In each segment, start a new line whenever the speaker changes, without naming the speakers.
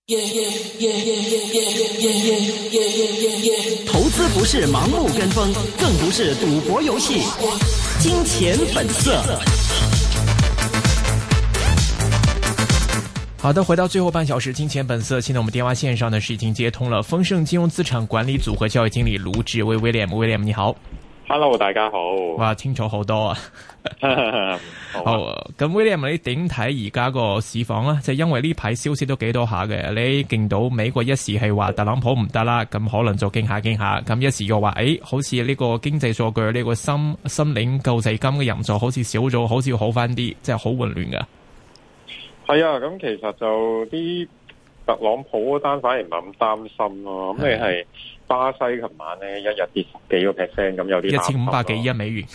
投資不是盲目跟風，更不是賭博遊戲。金錢本色。好的，回到最後半小時，金錢本色。現在我們電話線上呢是已經接通了豐盛金融資產管理組合交易經理盧志威 William 你好。
Hello， 大家好。
哇，清楚好多啊。好，咁 William 你點睇而家個市況啊？即係因為呢排消息都幾多下嘅，你見到美國一時係話特朗普唔得啦，咁可能就驚下，咁一時又話好似呢個經濟數據呢個申領救濟金嘅人數好似少咗，好似要好翻啲，即係好混亂噶。
係啊，咁其實就啲特朗普嗰單反而唔係咁擔心咯。咁你係巴西琴晚咧一日跌10幾個 percent， 咁有啲
1500幾億美元。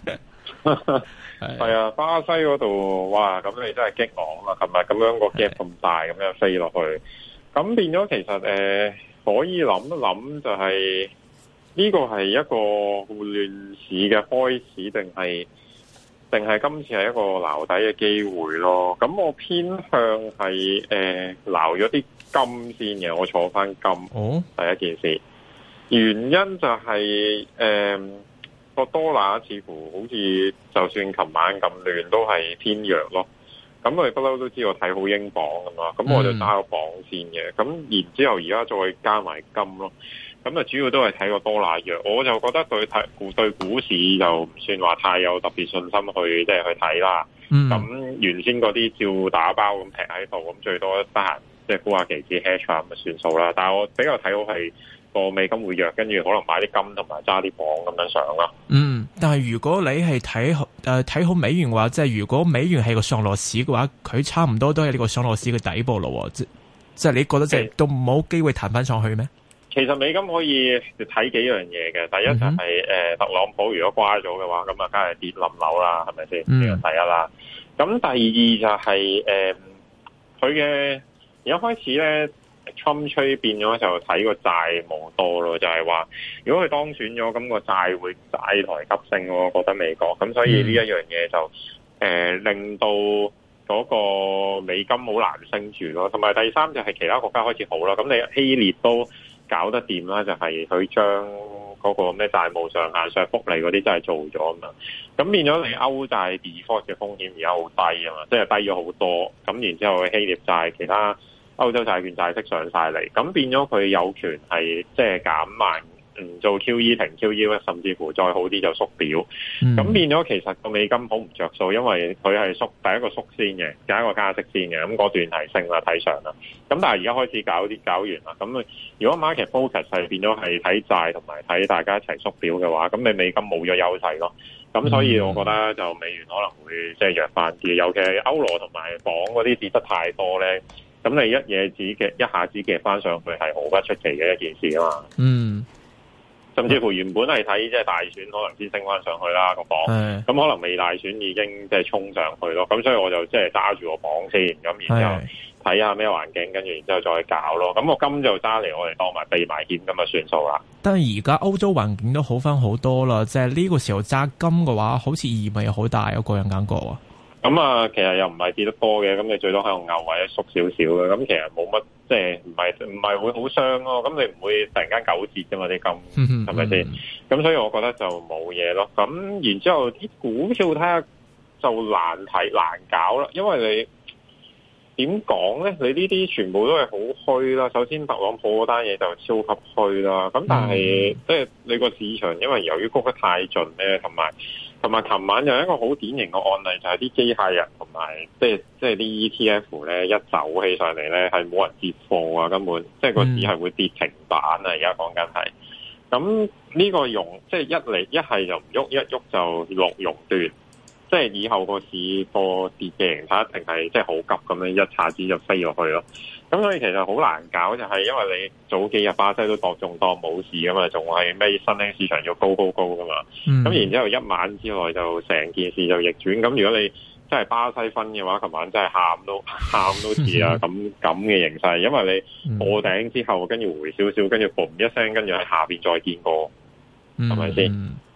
係啊，巴西嗰度哇，咁你真係激昂啦！琴日咁樣個 gap 咁大，咁樣飛落去，咁變咗其實可以諗一諗，就係呢個係一個亂市嘅開始，定係今次係一個撈底嘅機會咯？咁我偏向係撈咗啲金先嘅，我坐翻金。第一件事，原因就係個多拿似乎好似就算琴晚咁亂都係偏弱咯，咁我哋不嬲都知我睇好英鎊咁嘛，咁我就揸個鎊先嘅，咁然之後而家再加埋金咯，咁啊主要都係睇個多拿弱，我就覺得對股市就唔算話太有特別信心去即係去睇啦，咁原先嗰啲照打包咁劈喺度，咁最多得閒即係沽下期指 hedge 咁就算數啦，但係我比較睇好係個美金會弱，跟住可能買啲金同埋揸啲鎊咁樣上啦。
但係如果你係睇好美元嘅話，即係如果美元係個上落市嘅話，佢差唔多都係呢個上落市嘅底部咯。即係你覺得即係都冇機會彈翻上去咩？
其實美金可以睇幾樣嘢嘅，第一就係特朗普如果瓜咗嘅話，咁啊梗係跌冧樓啦，係咪先？呢個第一啦。咁第二就係佢嘅而家開始咧。Trump 吹變咗就睇個債務多咯，就係話如果佢當選咗，咁個債會債台急升，我覺得美國咁，所以呢一樣嘢就令到嗰個美金好難升住咯。同埋第三就係其他國家開始好啦，咁你希臘都搞得掂啦，就係佢將嗰個咩債務上限上福利嗰啲真係做咗啊嘛，咁變咗你歐債 default 嘅風險而家好低啊嘛，即係低咗好多，咁然之後希臘債其他歐洲債券債息上晒嚟，咁變咗佢有權係即係減慢，唔做 QE 停 QE， 甚至乎再好啲就縮表。咁變咗其實個美金好唔着數，因為佢係縮第一個縮先嘅，第一個加息先嘅，咁嗰段係升啦睇上啦。咁但係而家開始搞完啦，咁如果 market focus 係變咗係睇債同埋睇大家一齊縮表嘅話，咁你美金冇咗優勢咯。咁所以我覺得就美元可能會即係弱翻啲，尤其係歐羅同埋鎊嗰啲跌得太多咧。咁你一下子夾翻上去係毫不出奇嘅一件事啊嘛，甚至乎原本係睇即係大選可能先升翻上去啦個鎊，咁可能未大選已經即係衝上去咯，咁所以我就即係揸住個鎊先，咁然之後睇下咩環境，跟住然之後再搞咯，咁我金就揸嚟我哋當埋避埋險咁就算數啦。
但係而家歐洲環境都好翻好多啦，即係呢個時候揸金嘅話，好似意味好大，我個人感覺啊。
咁啊，其實又唔係跌得多嘅，咁你最多喺度牛或者縮少少嘅，咁其實冇乜，即係唔係會好傷咯。咁你唔會突然間9折啫嘛啲金，係咪先？咁所以我覺得就冇嘢咯。咁然之後啲股票睇下就難搞啦，因為你點講咧？你呢啲全部都係好虛啦。首先特朗普嗰單嘢就超級虛啦。咁但係即係你個市場，因為由於谷得太盡咧，同埋琴晚有一個好典型嘅案例，就係啲機械人同埋即係啲 ETF 咧一走起上嚟咧，係冇人接貨啊，根本即係個市係會跌停板啊！而家講緊係咁呢個即係一係就唔喐，一喐就落熔斷，即係以後個市個跌嘅形態一定係即係好急咁樣一下子就飛落去咯。咁所以其實好難搞，就係因為你早幾日巴西都仲當冇事噶嘛，仲係咩新興市場要高噶嘛。咁然之後一晚之內就成件事就逆轉。咁如果你真係巴西分嘅話，琴晚真係喊都似啊咁嘅形勢，因為你破頂之後跟住回少少，跟住嘣一聲，跟住喺下邊再見過，係咪先？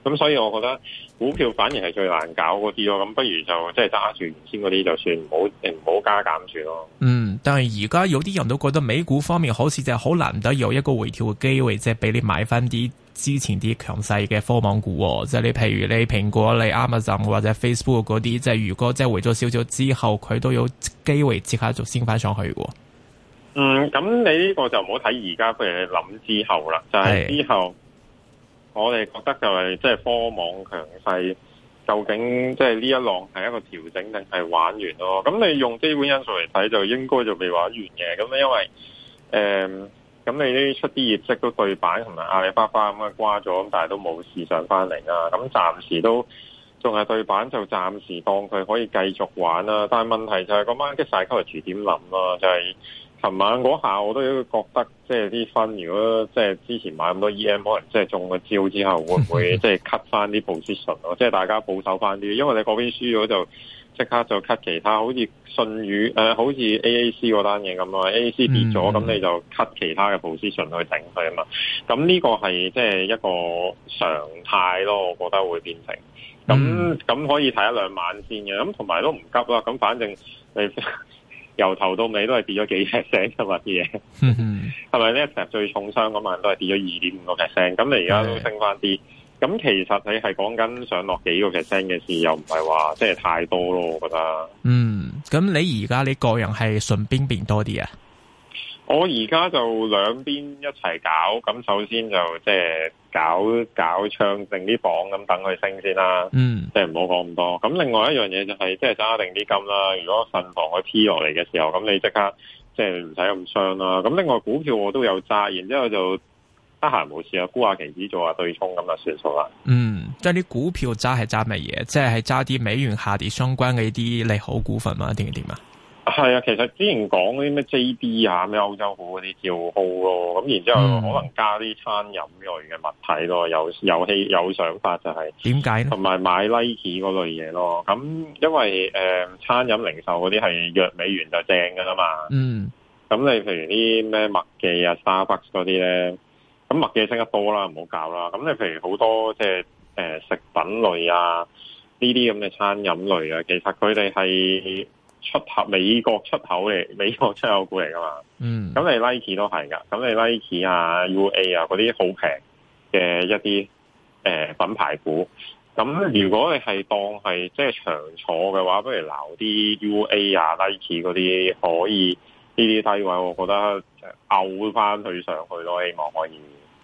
咁所以我覺得股票反而係最難搞嗰啲咯，咁不如就即係揸住原先嗰啲就算，唔好加減住咯。
但係而家有啲人都覺得美股方面好似就係好難得有一個回調嘅機會，即係俾你買翻啲之前啲強勢嘅科網股，即係你譬如你蘋果、你 Amazon 或者 Facebook 嗰啲，即係如果即係回咗少少之後，佢都有機會即刻就升翻上去嘅。
咁你呢個就唔好睇而家，譬如你諗之後啦，就係之後。我哋覺得就係即係科網強勢，究竟即係呢一浪係一個調整定係玩完咯？咁你用基本因素嚟睇，就應該就未玩完嘅。咁因為咁你呢出啲業績都對版，同埋阿里巴巴咁啊瓜咗，咁但係都冇事上翻嚟啦。咁暫時都仲係對版，就暫時當佢可以繼續玩啦。但係問題就係個 market psychology點諗咯？就係琴晚嗰下我都覺得，即係啲分，如果即係之前買咁多 EM，可能即係中個招之後，會唔會即係 cut 翻啲 position 咯？即係大家保守翻啲，因為你嗰邊輸咗就即刻就 cut 其他，好似信宇好似 AAC 嗰單嘢咁啊 ，AAC 跌咗，咁你就 cut 其他嘅 position 去頂佢啊嘛。咁呢個係即係一個常態咯，我覺得會變成咁可以睇一兩晚先嘅，咁同埋都唔急啦。咁反正你。由頭到尾都係跌咗幾 percent 㗎嘛啲嘢，係咪呢？成日最重傷嗰晚都係跌咗2.5%，咁你而家都升翻啲，咁其實你係講緊上落幾個 percent 嘅事，又唔係話即係太多咯，我覺得。咁
你而家你個人係信邊邊多啲啊？
我而家就兩邊一齊搞，咁首先就即係搞唱定啲榜咁等佢升先啦，即係唔好講咁多。咁另外一樣嘢就係即係揸定啲金啦。如果慎防佢 P 落嚟嘅時候，咁你即刻即係唔使咁傷啦。咁另外股票我都有揸，然之後就得閒冇事啊，沽下期指做下對沖咁就算數啦。
即係啲股票揸係揸乜嘢？即係揸啲美元下跌相關嘅啲利好股份嘛？定係點啊？
係啊，其實之前講嗰啲咩 JD 啊、咩歐洲股嗰啲照好咯，咁然之後可能加啲餐飲類嘅物體咯，有想法就係
點解呢？
同埋買 Nike 嗰類嘢咯，咁因為餐飲零售嗰啲係弱美元就正噶啦嘛，咁你譬如啲咩麥記啊、Starbucks 嗰啲咧，咁麥記升得多啦，唔好搞啦，咁你譬如好多即係食品類啊呢啲咁嘅餐飲類啊，其實佢哋係美國出口股嚟噶嘛，咁你 Nike 都係噶，咁你 Nike 啊、UA 啊嗰啲好平嘅一啲品牌股，咁如果你係當係即係長坐嘅話，不如撈啲 UA 啊、Nike 嗰啲可以呢啲低位，我覺得拗翻佢上去咯，希望可以。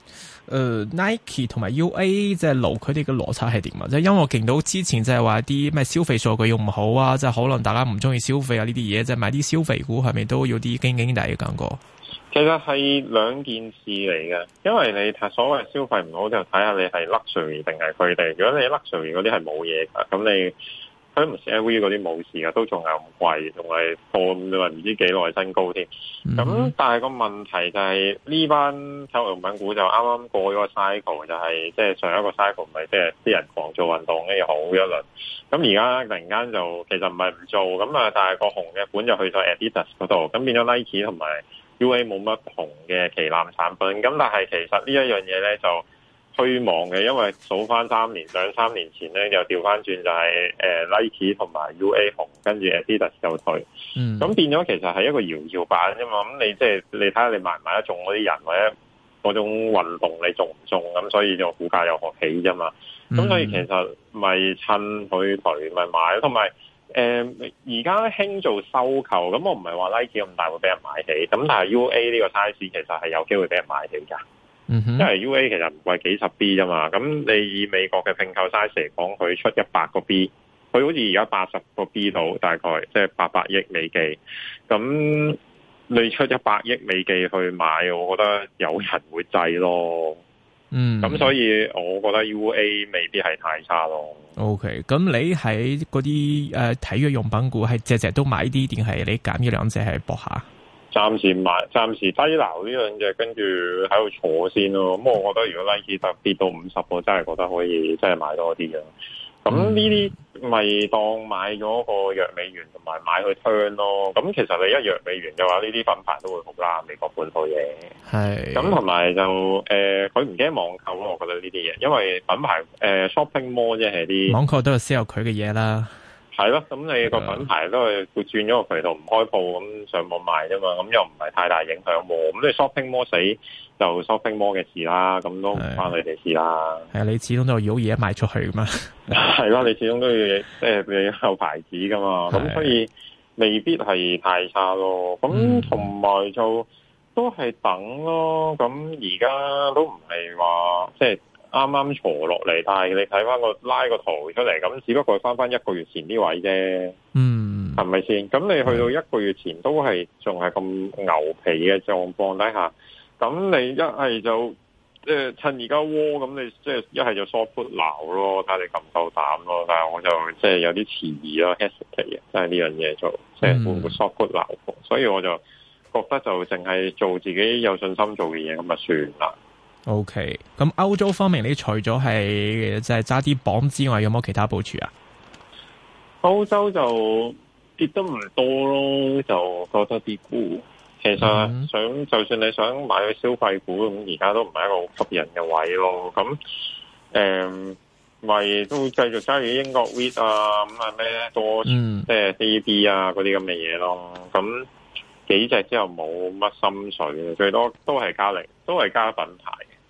Nike 同埋 UA 即係路佢哋嘅邏輯係點啊？即係因為我見到之前即係話啲咩消費數據又唔好啊，即係可能大家唔中意消費啊呢啲嘢，即係買啲消費股係咪都要啲驚驚地嘅感覺？
其實係兩件事嚟嘅，因為你睇所謂消費唔好就睇下你係 luxury 定係佢哋。如果你 luxury 嗰啲係冇嘢噶，咁你佢唔似 LV 嗰啲冇事噶，都仲係咁貴，仲係破你話唔知幾耐新高添。咁但係個問題就係呢班體育用品股就啱啱過咗個 cycle， 就係即係上一個 cycle 咪即係啲人狂做運動跟住好一輪。咁而家突然間就其實唔係唔做，咁啊但係個紅嘅本就去咗 Adidas 嗰度，咁變咗 Nike 同埋 UA 冇乜紅嘅旗艦產品。咁但係其實呢一樣嘢咧就虛妄嘅，因為數翻兩三年前咧，又調翻轉就係Nike 同埋 UA 紅，跟住 Adidas 就退，咁變咗其實係一個搖搖板啫嘛。咁你即係你睇下你買唔買得中嗰啲人，或者嗰種運動你中唔中，咁所以就股價又學起啫嘛。咁所以其實咪趁佢退咪買，同埋而家興做收購，咁我唔係話 Nike 咁大會俾人買起，咁但係 UA 呢個 size 其實係有機會俾人買起㗎。因為 UA 其實唔貴幾十 B 啫嘛，咁你以美國嘅併購 size 嚟講，佢出100個 B， 佢好似而家80個 B 度，大概即係800億美金。咁你出100億美金去買，我覺得有人會制咯。咁所以我覺得 UA 未必係太差咯。
OK， 咁你喺嗰啲體育用品股係隻隻都買啲，定係你揀呢兩隻係搏下？
暫時低撈呢兩隻，跟住喺度坐先咯。咁我覺得如果 Nike 跌到50，我真係覺得可以真係買多啲嘅。 咁呢啲咪當買咗個弱美元同埋買去 turn 咯。咁其實你一弱美元嘅話，呢啲品牌都會好啦。美國本土嘢係咁，同埋就佢唔驚網購咯。我覺得呢啲嘢，因為品牌shopping mall 即係啲
網購都係 sell 佢嘅嘢啦。
係咯，咁你個品牌都係會轉咗個渠道唔開鋪，咁上網賣啫嘛，咁又唔係太大影響喎。咁你 shopping mall 死就 shopping mall 嘅事啦，咁都唔關你哋事啦。
係啊，你始終都有嘢賣出去噶嘛。
係咯，你始終都要即係你有牌子噶嘛，咁所以未必係太差咯。咁同埋就都係等咯。咁而家都唔係話即係啱啱坐落嚟，但係你睇翻個拉個圖出嚟，咁只不過翻一個月前啲位啫，係咪先？咁你去到一個月前都係仲係咁牛皮嘅狀況底下，咁你一係就趁而家窩，咁你即係一係就 short put 撈咯，睇下你夠唔夠膽咯。但係我就即係有啲遲疑咯 hesitate 啊，即係呢樣嘢做，即係會唔會 short put 撈？所以我就覺得就淨係做自己有信心做嘅嘢，咁就算啦。
OK， 咁歐洲方面，你除咗係即係揸啲磅之外，有冇其他部署啊？
歐洲就跌得唔多咯，就覺得啲股其實就算你想買去消費股，咁而家都唔係一個好吸引嘅位咯。咁咪都繼續揸住英國 REIT 啊，咁啊咩多即係 DB 啊嗰啲咁嘅嘢咯。咁幾隻之後冇乜心水嘅，最多都係加品牌。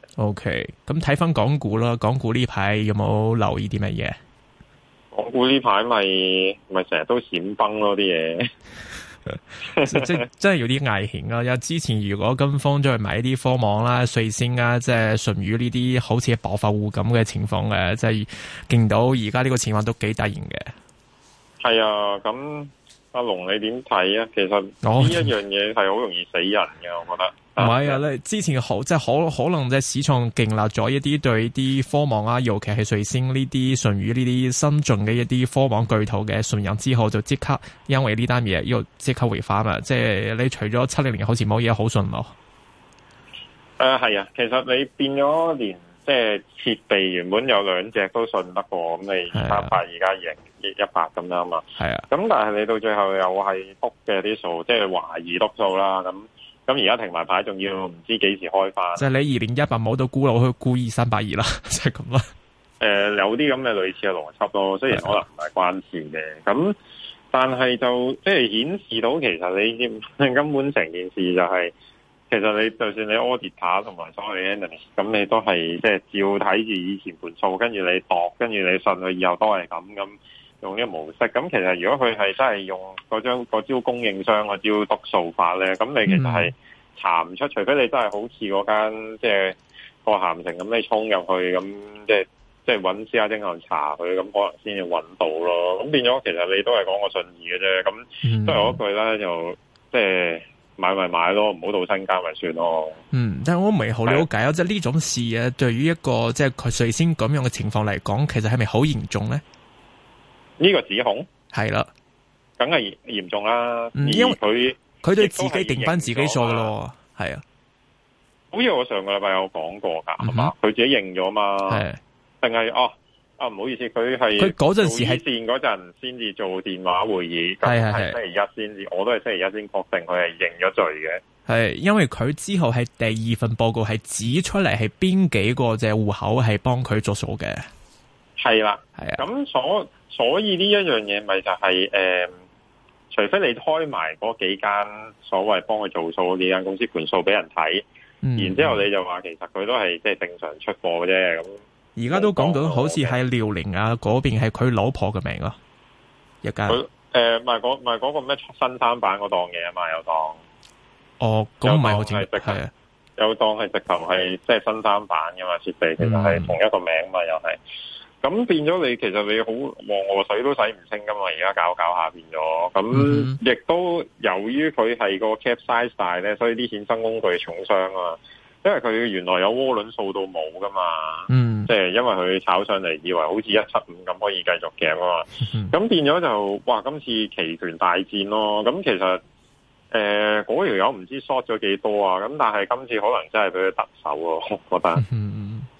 OK， 咁睇翻港股啦，港股呢排有冇留意啲乜嘢？
港股呢排咪成日都閃崩咯啲嘢，
即真係有啲危險啊！因為之前如果跟風咗去買啲科網啦、瑞星啊、即係舜宇呢啲好似暴發戶咁嘅情況嘅，即係見到而家呢個情況都幾突然嘅。係
啊，咁阿龍你點睇啊？其實呢一樣嘢係好容易死人嘅，我覺得。
唔係啊，你之前好即係可能即係市場建立咗一啲對啲科網啊，尤其係瑞星呢啲、舜宇呢啲新進嘅一啲科網巨頭嘅信任之後，就即刻因為呢單嘢又即刻回翻啊！即係你除咗700年好似冇嘢好信咯。
係啊，其實你變咗連即係設備原本有兩隻都信得過，咁你300而家贏100咁樣嘛。係啊，咁但係你到最後又係篤嘅啲數，即係懷疑篤數啦咁而家停埋牌，仲要唔知幾時開翻。即係你2018冇到沽落去沽2382啦，就係咁啦。 有啲咁嘅類似嘅邏輯咯，雖然可能唔係關事嘅，咁但係就即係顯示到其實你根本成件事就係，其實你就算你 auditor 同埋所謂嘅 analyst，咁你都係即係照睇住以前盤數，跟住你度，跟住你信佢以後都係咁用呢個模式。咁其實如果佢係真係用嗰招供應商嗰招督數法咧，咁你其實係查唔出，除非你真係好似嗰間即係個鹹城咁，你衝入去咁即係揾私家偵探查佢，咁可能先至揾到咯。咁變咗其實你都係講個信義嘅啫。咁都係嗰句啦，就即係買咪買咯，唔好到身家咪算咯。
但係我唔係好了解啊，即係呢種事啊，對於一個即係佢最先咁樣嘅情況嚟講，其實係咪好嚴重咧？呢
個指控
係啦，
梗係嚴重啦。
因為佢對自己定翻自己數噶咯，係啊。
好似我上個禮拜有講過噶，係嘛？佢自己認咗嘛？係定係唔好意思，佢嗰陣時係線嗰陣先至做電話會議，係星期一先至，我都係星期一先確定佢係認咗罪嘅。係因為佢之後係第二份報告係指出嚟係邊幾個隻戶口係幫佢做數嘅。係啦，係啊。咁所以呢一樣嘢咪就係除非你開埋嗰幾間所謂幫佢做數嗰幾間公司盤數俾人睇，然之後你就話其實佢都係即係正常出貨嘅啫。咁而家都講到好似係遼寧啊嗰邊係佢老婆嘅名咯，一間賣嗰個咩新三板嗰檔嘢啊嘛，有檔。哦，咁唔係好似係啊，有檔係直頭係即係新三板噶嘛，設備其實係同一個名嘛，又係。咁變咗你其實你好黃河水都洗唔清噶嘛，而家搞下變咗。咁亦都由於佢係個 cap size 大咧，所以啲衍生工具重傷啊。因為佢原來有渦輪掃到冇噶嘛，即係因為佢炒上嚟以為好似175咁可以繼續夾啊嘛，咁變咗就哇今次期權大戰咯。咁其實嗰條友唔知 short 咗幾多啊，咁但係今次可能真係俾佢特首咯，我覺得。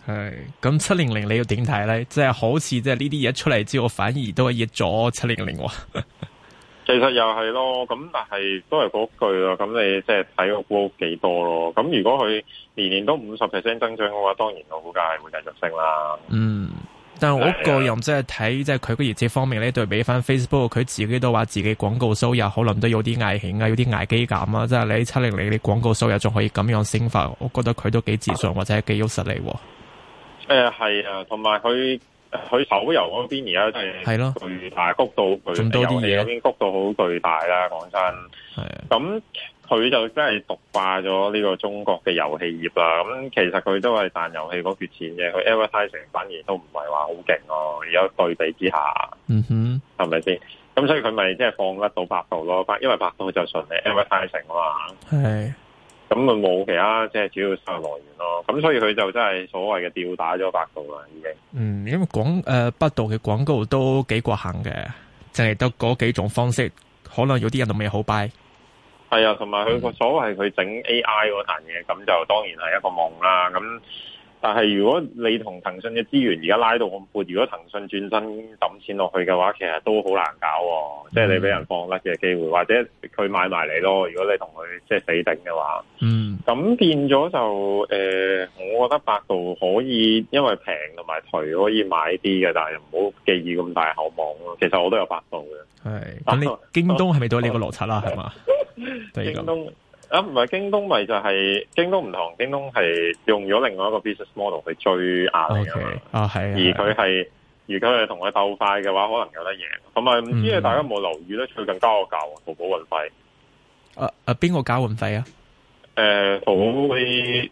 係咁700你要點睇咧？即係好似即係呢啲嘢出嚟之後，反而都係益咗700喎。
其實又係咯，咁但係都係嗰句咯。咁你即係睇個股幾多咯？咁如果佢年年都50% 增長嘅話，當然個股價係會繼續升啦。
嗯，但係我個人即係睇即係佢個業績方面咧，對比翻 Facebook，佢自己都話自己廣告收入可能都有啲危險啊，有啲危機感啊。即係你700你廣告收入仲可以咁樣升法，我覺得佢都幾自信或者係幾有實力。
係啊，同埋佢手遊嗰邊而家真係巨大谷到佢遊戲嗰邊谷到好巨大啦，講真。係啊，咁佢就真係獨霸咗呢個中國嘅遊戲業啦。咁其實佢都係賺遊戲嗰橛錢嘅，佢 advertising 反而都唔係話好勁咯。而家對比之下，係咪先？咁所以佢咪即係放甩到百度咯，因為百度就純係 advertising 啊嘛。係。咁咪冇其他即係主要收入來源咯，咁所以佢就真係所謂嘅吊打咗百度啦，已經。
因為百度嘅廣告都幾過行嘅，淨係得嗰幾種方式，可能有啲人都未好 buy。
係啊，同埋佢個所謂佢整 AI 嗰壇嘢，咁就當然係一個夢啦。咁但係如果你同騰訊嘅資源而家拉到咁闊，如果騰訊轉身抌錢落去嘅話，其實都好難搞喎。即係你俾人放甩嘅機會，或者佢買埋你咯。如果你同佢即係死頂嘅話，咁變咗就我覺得百度可以因為平同埋頹可以買啲嘅，但係唔好寄予咁大厚望咯。其實我都有百度嘅。係
咁，你京東係咪都係呢個邏輯啦？係嘛？
京東。唔係京東，咪就係京東唔同，京東係用咗另外一個 business model 去追阿里啊嘛。係。而佢係如果係同佢鬥快嘅話，可能有得贏。同埋唔知大家有冇留意咧？最近交個價喎，淘寶運費。
邊個交運費啊？
淘寶嗰啲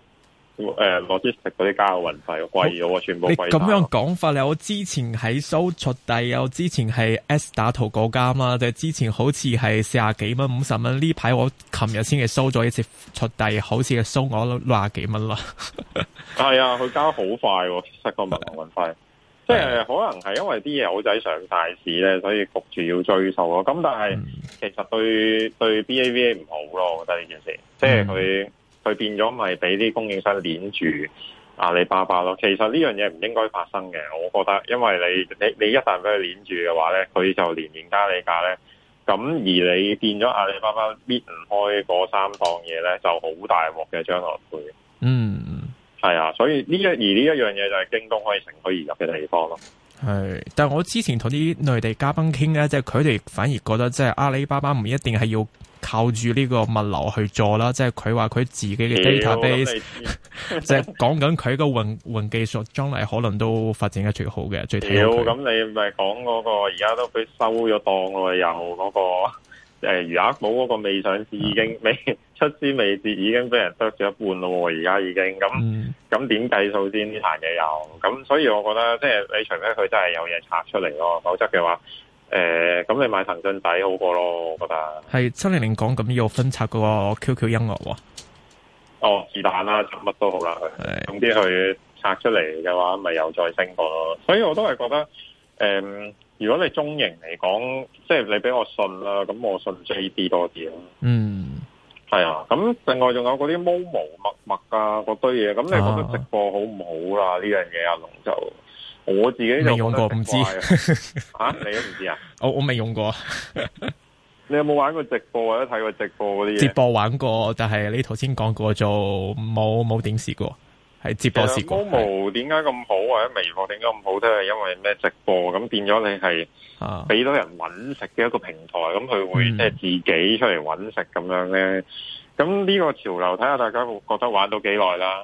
logistics 嗰啲交運費貴咗，全部貴咗。你
咁樣講法咧，我之前喺搜速遞，我之前係 S 打淘嗰間啦，就之前好似係40幾蚊、50蚊。呢排我琴日先係收咗一次速遞，好似係收我60幾蚊啦。
係啊，佢交好快喎，其實個物流運費。即係可能係因為啲嘢好仔上大市咧，所以焗住要追數咯。咁但係其實對 BAVA 唔好咯，我覺得呢件事，即係佢變咗咪俾啲供應商鏈住阿里巴巴咯。其實呢樣嘢唔應該發生嘅，我覺得，因為你一旦俾佢鏈住嘅話咧，佢就年年加你價咧。咁而你變咗阿里巴巴搣唔開嗰3檔嘢咧，就好大鑊嘅將來會。係啊，所以呢一樣嘢就係京東可以乘虛而入嘅地方咯。
係，但係我之前同啲內地嘉賓傾咧，即係佢哋反而覺得即係阿里巴巴唔一定係要靠住呢個物流去做啦，即係佢話佢自己嘅 database，即係講緊佢個雲技術將來可能都發展得最好嘅，最睇好佢。咁
你咪講嗰個而家都俾收咗檔咯，又嗰個餘額寶嗰個未上市已經未出師未捷，已經俾人得咗一半咯，而家已經咁點計數先呢壇嘢又咁，所以我覺得即係你除非佢真係有嘢拆出嚟咯，否則嘅話咁你買騰訊仔好過咯，我覺得
係700講咁要分拆嗰個 QQ 音樂喎。
哦，是但啦，做乜都好啦，總之佢拆出嚟嘅話，咪又再升過咯。所以我都係覺得如果你中型嚟講，即係你俾我信啦，咁我信 JD 多啲咯。係啊，咁另外仲有嗰啲 Momo 陌陌啊嗰堆嘢，咁你覺得直播好唔好啦？呢樣嘢阿龍就我自己就
未用過，唔知
你都唔知啊？
我未用過。
你有冇玩過直播或者睇過直播嗰啲嘢？
直播玩過，但係你頭先講過就冇點試過。係直播試過。
Momo 點解咁好或者微博點解咁好？都係因為咩直播咁變咗你係俾到人揾食嘅一個平台，咁佢會即係自己出嚟揾食咁樣咧。咁呢個潮流睇下大家覺得玩到幾耐啦。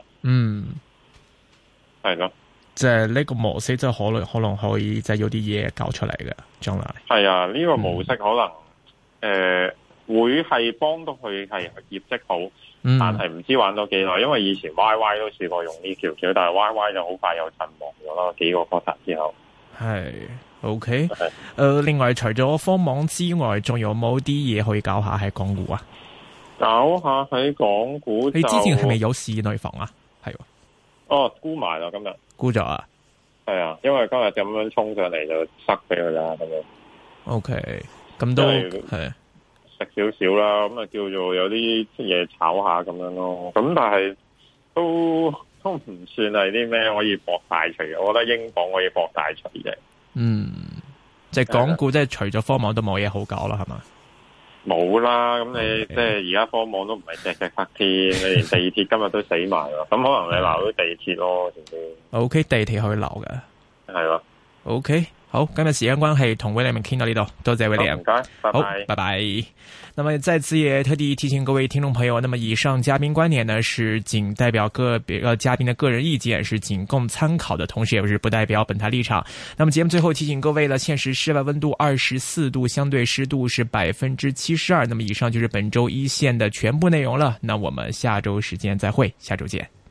係咯，
即係呢個模式即係可能可以即係有啲嘢搞出嚟嘅將來。係
啊，呢個模式可能會係幫到佢係業績好。但係唔知玩到幾耐，因為以前 YY 都試過用呢條橋，但係 YY 就好快又陣亡咗啦，幾個 quarter 之後。係
OK，另外除咗科網之外，仲有冇啲嘢可以搞下喺港股啊？
搞下喺港股，
你之前係咪有市內房啊？係
哦，沽埋啦今日，
沽咗啊？
係啊，因為今日咁樣衝上嚟就塞俾佢啦咁樣。OK，
咁都係。
食少少啦，咁啊叫做有啲嘢炒下咁樣咯。咁但係都都唔算係啲咩可以博大除嘅，我覺得英鎊可以博大除嘅。
即係港股即係除咗科網都冇嘢好搞啦，係嘛？
冇啦，咁你即係而家科網都唔係隻隻得添，你連地鐵今日都死埋咯，咁可能你鬧到地鐵咯，先先。O
K， 地鐵可以鬧嘅，
係咯。
O K。好，今日時間關係，同 William 傾到呢度，多謝 William，
唔該，拜拜，
好，拜拜。那麼再次也特地提醒各位聽眾朋友，那麼以上嘉賓觀點呢，是僅代表個別嘉賓的個人意見，是僅供參考的，同時也是不代表本台立場。那麼節目最後提醒各位呢，現時室外溫度24度，相對濕度是72%。那麼以上就是本周一線的全部內容了。那我們下周時間再會，下周見。